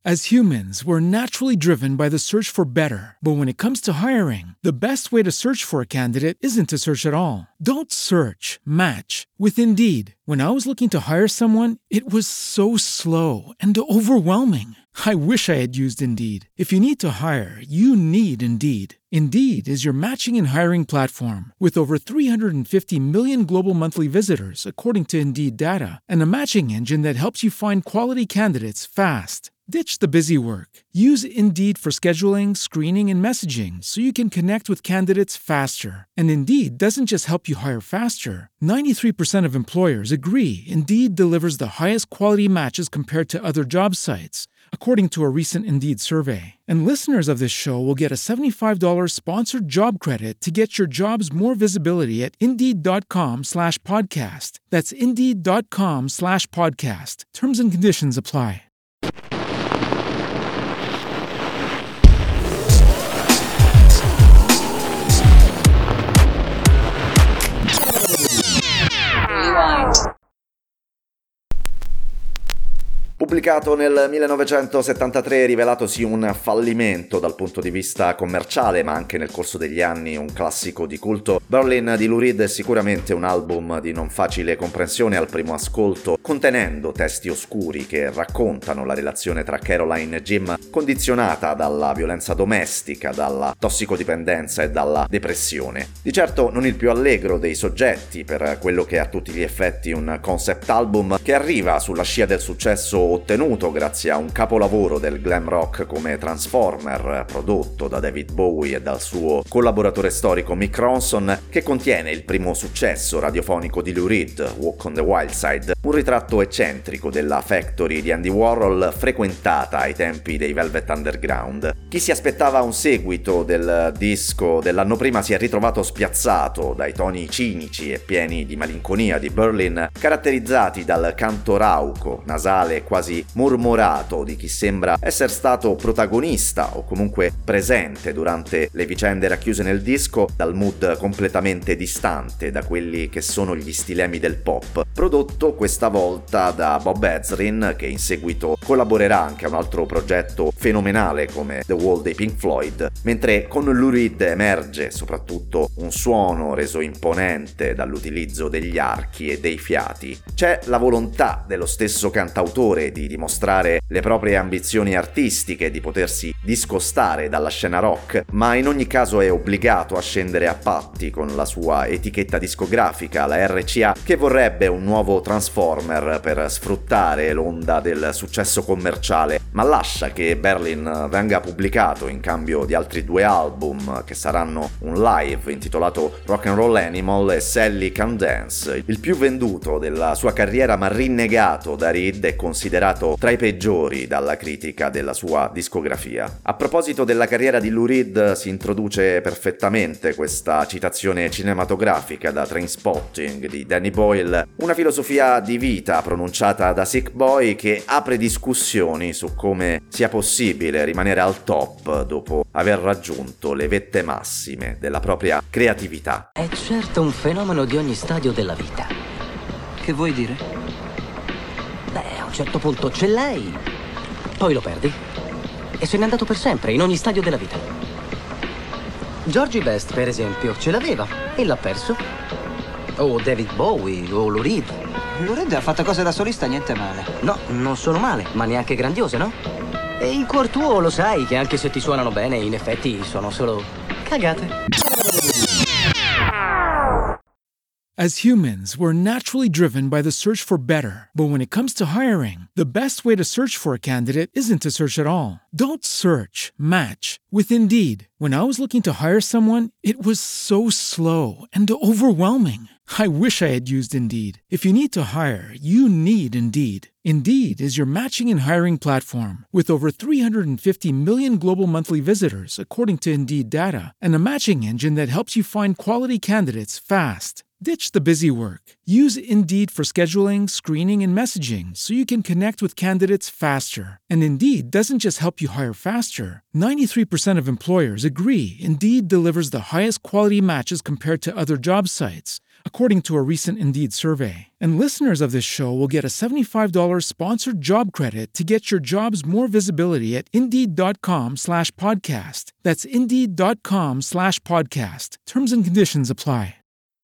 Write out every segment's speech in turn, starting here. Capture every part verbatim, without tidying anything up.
As humans, we're naturally driven by the search for better. But when it comes to hiring, the best way to search for a candidate isn't to search at all. Don't search, match with Indeed. When I was looking to hire someone, it was so slow and overwhelming. I wish I had used Indeed. If you need to hire, you need Indeed. Indeed is your matching and hiring platform with over three hundred fifty million global monthly visitors, according to Indeed data, and a matching engine that helps you find quality candidates fast. Ditch the busy work. Use Indeed for scheduling, screening, and messaging so you can connect with candidates faster. And Indeed doesn't just help you hire faster. ninety-three percent of employers agree Indeed delivers the highest quality matches compared to other job sites, according to a recent Indeed survey. And listeners of this show will get a seventy-five dollars sponsored job credit to get your jobs more visibility at Indeed.com slash podcast. That's Indeed.com slash podcast. Terms and conditions apply. Pubblicato nel millenovecentosettantatré, rivelatosi un fallimento dal punto di vista commerciale, ma anche nel corso degli anni un classico di culto, Berlin di Lou Reed è sicuramente un album di non facile comprensione al primo ascolto, contenendo testi oscuri che raccontano la relazione tra Caroline e Jim, condizionata dalla violenza domestica, dalla tossicodipendenza e dalla depressione. Di certo non il più allegro dei soggetti per quello che è a tutti gli effetti un concept album che arriva sulla scia del successo ottenuto grazie a un capolavoro del glam rock come Transformer, prodotto da David Bowie e dal suo collaboratore storico Mick Ronson, che contiene il primo successo radiofonico di Lou Reed, Walk on the Wild Side, un ritratto eccentrico della Factory di Andy Warhol frequentata ai tempi dei Velvet Underground. Chi si aspettava un seguito del disco dell'anno prima si è ritrovato spiazzato dai toni cinici e pieni di malinconia di Berlin, caratterizzati dal canto rauco, nasale e quasi mormorato di chi sembra essere stato protagonista o comunque presente durante le vicende racchiuse nel disco, dal mood completamente distante da quelli che sono gli stilemi del pop, prodotto questa volta da Bob Ezrin, che in seguito collaborerà anche a un altro progetto fenomenale come The Wall dei Pink Floyd, mentre con Lou Reed emerge soprattutto un suono reso imponente dall'utilizzo degli archi e dei fiati. C'è la volontà dello stesso cantautore di dimostrare le proprie ambizioni artistiche, di potersi discostare dalla scena rock, ma in ogni caso è obbligato a scendere a patti con la sua etichetta discografica, la R C A, che vorrebbe un nuovo Transformer per sfruttare l'onda del successo commerciale, ma lascia che Berlin venga pubblicato in cambio di altri due album che saranno un live intitolato Rock and Roll Animal e Sally Can Dance, il più venduto della sua carriera, ma rinnegato da Reed e considerato tra i peggiori dalla critica della sua discografia. A proposito della carriera di Lou Reed, si introduce perfettamente questa citazione cinematografica da Trainspotting di Danny Boyle, una filosofia di vita pronunciata da Sick Boy che apre discussioni su come sia possibile rimanere al top dopo aver raggiunto le vette massime della propria creatività. È certo un fenomeno di ogni stadio della vita. Che vuoi dire? Beh, a un certo punto ce l'hai, poi lo perdi e se n'è andato per sempre in ogni stadio della vita. Georgie Best, per esempio, ce l'aveva e l'ha perso. O David Bowie o Lou Reed. Lou Reed ha fatto cose da solista niente male. No, non sono male, ma neanche grandiose, no? E in cuor tuo lo sai che anche se ti suonano bene, in effetti sono solo cagate. As humans, we're naturally driven by the search for better. But when it comes to hiring, the best way to search for a candidate isn't to search at all. Don't search, match with Indeed. When I was looking to hire someone, it was so slow and overwhelming. I wish I had used Indeed. If you need to hire, you need Indeed. Indeed is your matching and hiring platform with over three hundred fifty million global monthly visitors, according to Indeed data, and a matching engine that helps you find quality candidates fast. Ditch the busy work. Use Indeed for scheduling, screening, and messaging so you can connect with candidates faster. And Indeed doesn't just help you hire faster. ninety-three percent of employers agree Indeed delivers the highest quality matches compared to other job sites, according to a recent Indeed survey. And listeners of this show will get a seventy-five dollars sponsored job credit to get your jobs more visibility at Indeed.com slash podcast. That's Indeed.com slash podcast. Terms and conditions apply.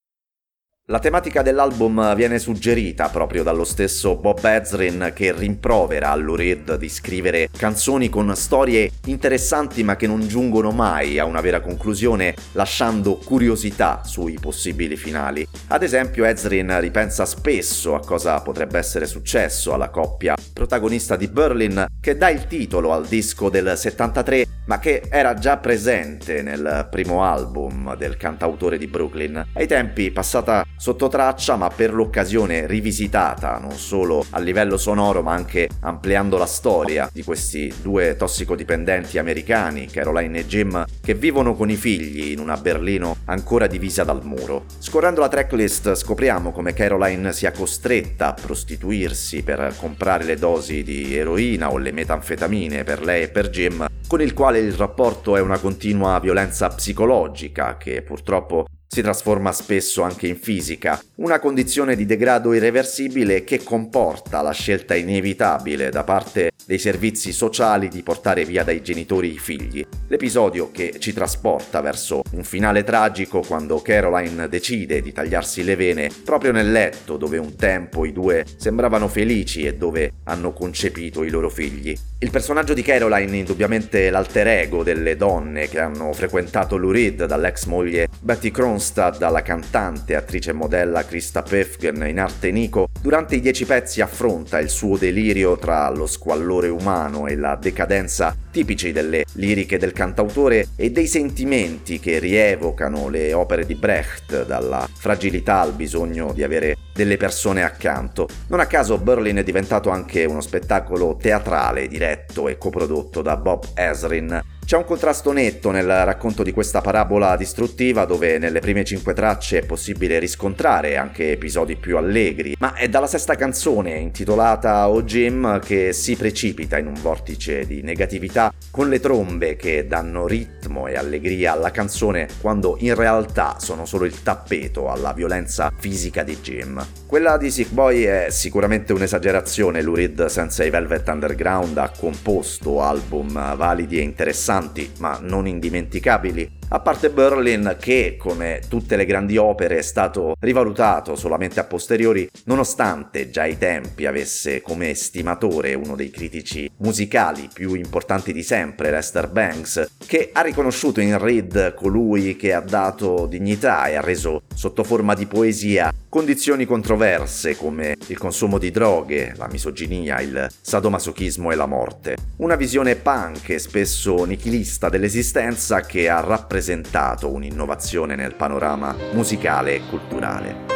La tematica dell'album viene suggerita proprio dallo stesso Bob Ezrin, che rimprovera a Lou Reed di scrivere canzoni con storie interessanti ma che non giungono mai a una vera conclusione, lasciando curiosità sui possibili finali. Ad esempio, Ezrin ripensa spesso a cosa potrebbe essere successo alla coppia protagonista di Berlin, che dà il titolo al disco del settantatré ma che era già presente nel primo album del cantautore di Brooklyn. Ai tempi passata sotto traccia, ma per l'occasione rivisitata non solo a livello sonoro ma anche ampliando la storia di questi due tossicodipendenti americani, Caroline e Jim, che vivono con i figli in una Berlino ancora divisa dal muro. Scorrendo la tracklist scopriamo come Caroline sia costretta a prostituirsi per comprare le dosi di eroina o le metanfetamine per lei e per Jim, con il quale il rapporto è una continua violenza psicologica che purtroppo si trasforma spesso anche in fisica, una condizione di degrado irreversibile che comporta la scelta inevitabile da parte dei servizi sociali di portare via dai genitori i figli. L'episodio che ci trasporta verso un finale tragico quando Caroline decide di tagliarsi le vene proprio nel letto dove un tempo i due sembravano felici e dove hanno concepito i loro figli. Il personaggio di Caroline, indubbiamente l'alter ego delle donne che hanno frequentato Lou Reed, dall'ex moglie Betty Kronstadt alla cantante, attrice e modella Krista Pefgen in arte Nico, durante i dieci pezzi affronta il suo delirio tra lo squallore umano e la decadenza tipici delle liriche del cantautore e dei sentimenti che rievocano le opere di Brecht, dalla fragilità al bisogno di avere delle persone accanto. Non a caso Berlin è diventato anche uno spettacolo teatrale diretto e coprodotto da Bob Ezrin. C'è un contrasto netto nel racconto di questa parabola distruttiva, dove nelle prime cinque tracce è possibile riscontrare anche episodi più allegri, ma è dalla sesta canzone, intitolata Oh Jim, che si precipita in un vortice di negatività, con le trombe che danno ritmo e allegria alla canzone quando in realtà sono solo il tappeto alla violenza fisica di Jim. Quella di Sick Boy è sicuramente un'esagerazione. Lou Reed senza i Velvet Underground ha composto album validi e interessanti ma non indimenticabili, a parte Berlin, che come tutte le grandi opere è stato rivalutato solamente a posteriori, nonostante già ai tempi avesse come estimatore uno dei critici musicali più importanti di sempre, Lester Bangs, che ha riconosciuto in Reed colui che ha dato dignità e ha reso sotto forma di poesia condizioni controverse come il consumo di droghe, la misoginia, il sadomasochismo e la morte. Una visione punk e spesso nichilista dell'esistenza che ha rappresentato un'innovazione nel panorama musicale e culturale.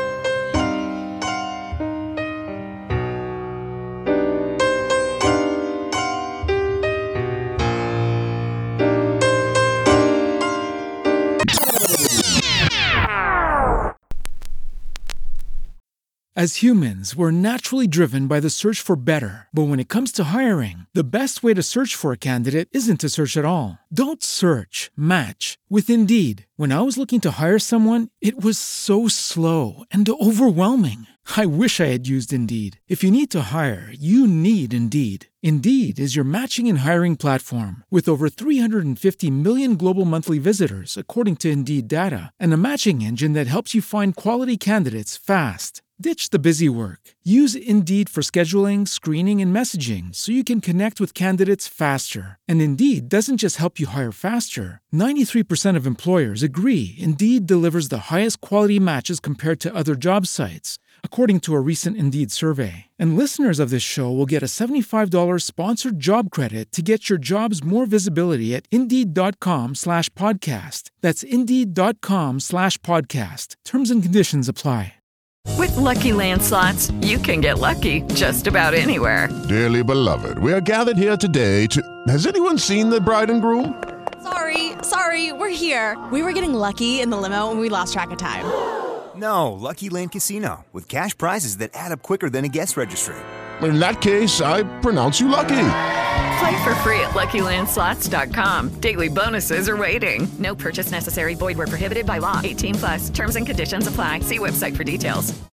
As humans, we're naturally driven by the search for better. But when it comes to hiring, the best way to search for a candidate isn't to search at all. Don't search, match with Indeed. When I was looking to hire someone, it was so slow and overwhelming. I wish I had used Indeed. If you need to hire, you need Indeed. Indeed is your matching and hiring platform with over three hundred fifty million global monthly visitors, according to Indeed data, and a matching engine that helps you find quality candidates fast. Ditch the busy work. Use Indeed for scheduling, screening, and messaging so you can connect with candidates faster. And Indeed doesn't just help you hire faster. ninety-three percent of employers agree Indeed delivers the highest quality matches compared to other job sites, according to a recent Indeed survey. And listeners of this show will get a seventy-five dollars sponsored job credit to get your jobs more visibility at Indeed.com slash podcast. That's Indeed.com slash podcast. Terms and conditions apply. With Lucky Land Slots, you can get lucky just about anywhere. Dearly beloved, we are gathered here today to... Has anyone seen the bride and groom? Sorry, sorry, we're here. We were getting lucky in the limo and we lost track of time. No, Lucky Land Casino, with cash prizes that add up quicker than a guest registry. In that case, I pronounce you lucky. Play for free at lucky land slots dot com. Daily bonuses are waiting. No purchase necessary. Void where prohibited by law. eighteen plus. Terms and conditions apply. See website for details.